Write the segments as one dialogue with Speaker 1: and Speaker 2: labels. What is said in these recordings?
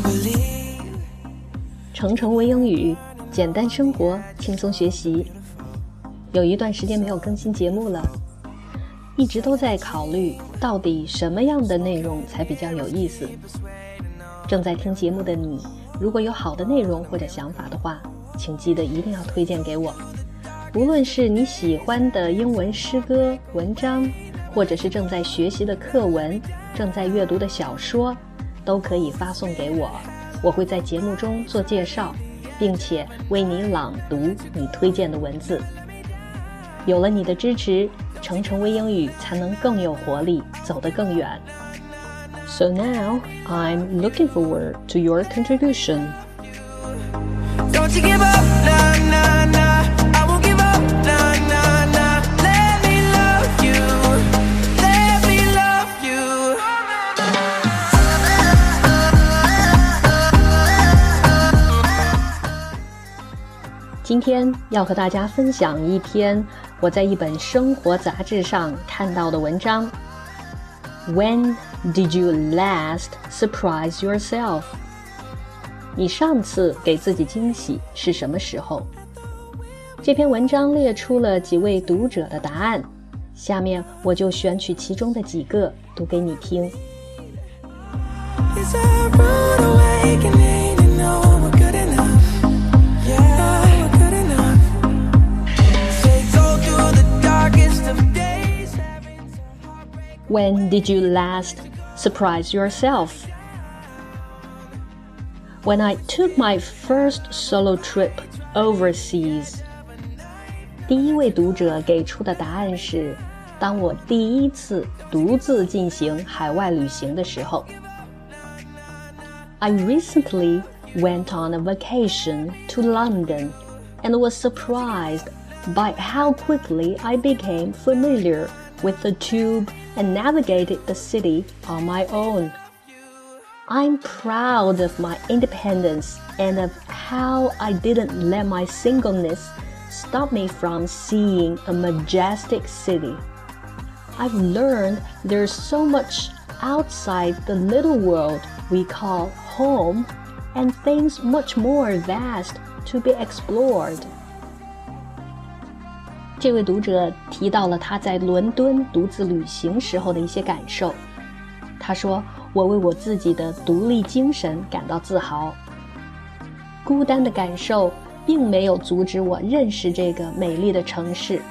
Speaker 1: 程程微英语，简单生活，轻松学习。有一段时间没有更新节目了，一直都在考虑到底什么样的内容才比较有意思。正在听节目的你，如果有好的内容或者想法的话，请记得一定要推荐给我。无论是你喜欢的英文诗歌、文章，或者是正在学习的课文，正在阅读的小说，都可以发送给我，我会在节目中做介绍，并且为你朗读你推荐的文字。有了你的支持，程程微英语才能更有活力，走得更远。So now, I'm looking forward to your contribution.
Speaker 2: Don't you give up, nah, nah, nah. I won't give up, nah, nah, nah. Let me love you. Let me love you.
Speaker 1: 今天要和大家分享一篇我在一本生活杂志上看到的文章。When did you last surprise yourself? 你上次给自己惊喜是什么时候？这篇文章列出了几位读者的答案，下面我就选取其中的几个读给你听。
Speaker 2: It's a rude awakening, you know we're good enough. Yeah, we're good enough. Say go through the darkest of days.
Speaker 1: When did you last surprise yourself? When I took my first solo trip overseas. 第一位读者给出的答案是，当我第一次独自进行海外旅行的时候。I recently went on a vacation to London and was surprised by how quickly I became familiar with the tube and navigated the city on my own. I'm proud of my independence and of how I didn't let my singleness stop me from seeing a majestic city. I've learned there's so much outside the little world we call home and things much more vast to be explored. 这位读者提到了他在伦敦独自旅行时候的一些感受。他说，我为我自己的独立精神感到自豪。孤单的感受并没有阻止我认识这个美丽的城市。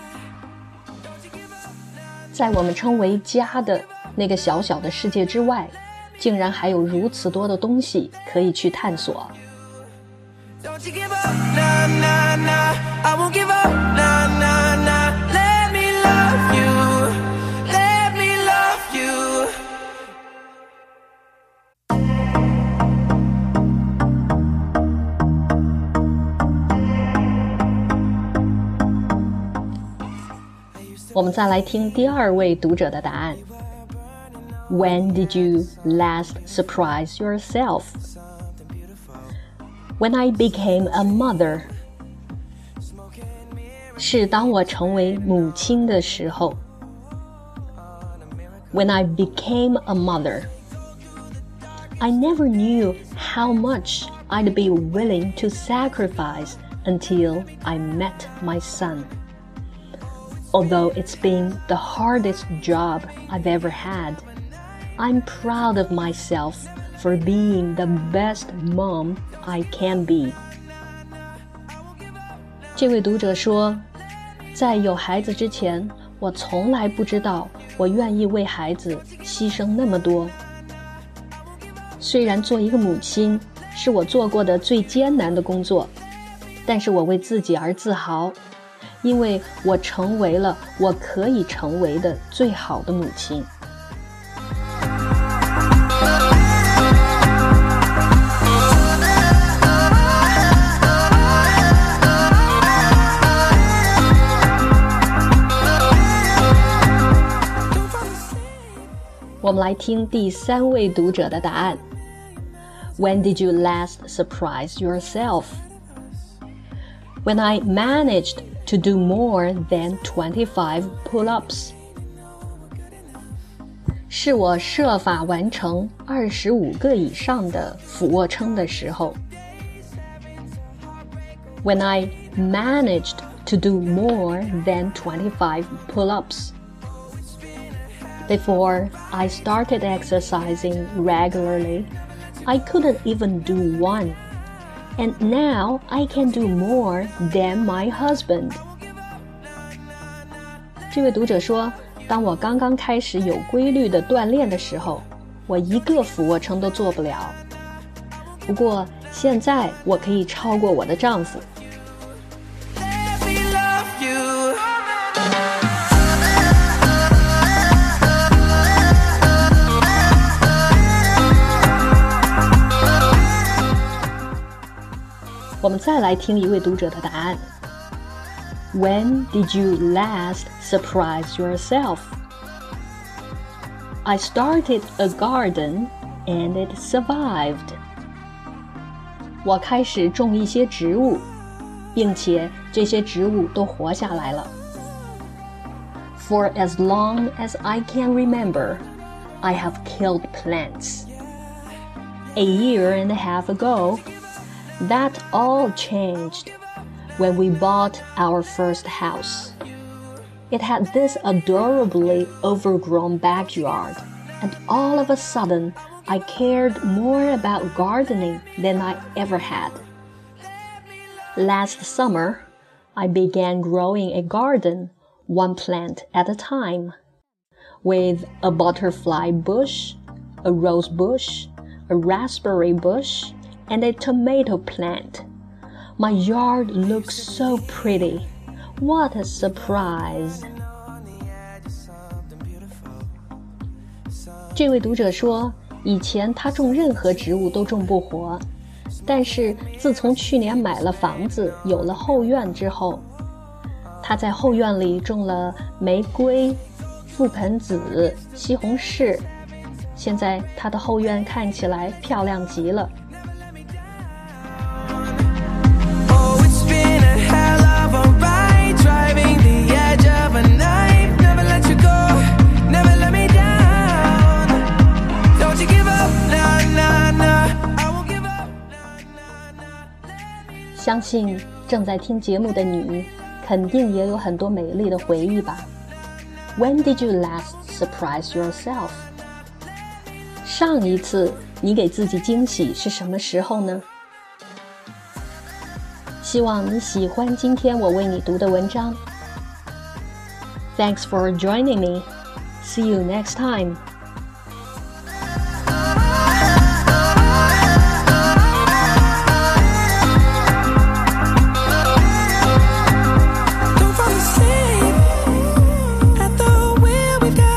Speaker 1: 在我们称为家的那个小小的世界之外，竟然还有如此多的东西可以去探索。
Speaker 2: Don't you give up, nah, nah, nah. I won't give up, nah, nah, nah. Let me love you. Let me love you. 我们再来听第二位读者的答案。When did you last surprise yourself? When I became a mother. 是当我成为母亲的时候。When I became a mother. I never knew how much I'd be willing to sacrifice until I met my son. Although it's been the hardest job I've ever had, I'm proud of myself for being the best mom I can be. 这位读者说，在有孩子之前，我从来不知道我愿意为孩子牺牲那么多。虽然做一个母亲是我做过的最艰难的工作，但是我为自己而自豪，因为我成为了我可以成为的最好的母亲。我们来听第三位读者的答案。When did you last surprise yourself? When I managed to do more than 25 pull-ups.
Speaker 1: 是我设法完成25个以上的俯卧撑的时候。When I managed to do more than 25 pull-ups. Before I started exercising regularly, I couldn't even do one. And now I can do more than my husband. 这位读者说，当我刚刚开始有规律的锻炼的时候，我一个俯卧撑都做不了。不过现在我可以超过我的丈夫。我们再来听一位读者的答案。When did you last surprise yourself? I started a garden and it survived. 我开始种一些植物，并且这些植物都活下来了。For as long as I can remember, I have killed plants. A year and a half ago,That all changed when we bought our first house. It had this adorably overgrown backyard, and all of a sudden, I cared more about gardening than I ever had. Last summer, I began growing a garden, one plant at a time, with a butterfly bush, a rose bush, a raspberry bush,and a tomato plant. My yard looks so pretty. What a surprise! 这位读者说，以前他种任何植物都种不活，但是自从去年买了房子，有了后院之后，他在后院里种了玫瑰、覆盆子、西红柿，现在他的后院看起来漂亮极了。相信正在听节目的你，肯定也有很多美丽的回忆吧。When did you last surprise yourself? 上一次你给自己惊喜是什么时候呢？希望你喜欢今天我为你读的文章。Thanks for joining me. See you next time.
Speaker 2: We've got